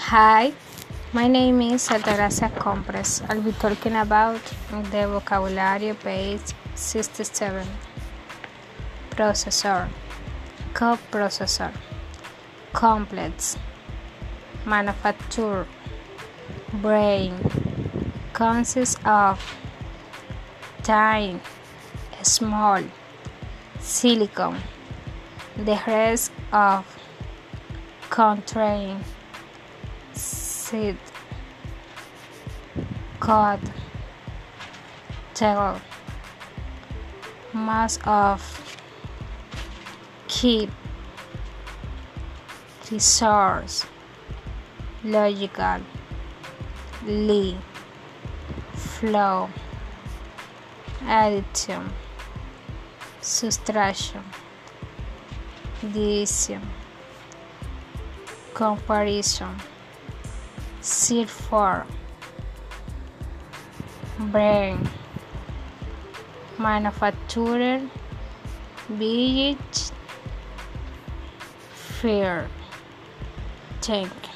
Hi, my name is Altagracia Compres. I'll be talking about the vocabulary page 67. Processor, coprocessor, complex, manufacture, brain, consists of tiny, small, silicon, the rest of contain seed, code, tell, most of, keep, resource, logical, lee, flow, addition, subtraction, division, comparison, seed for, brain, manufacturer, village, fair. Thank you.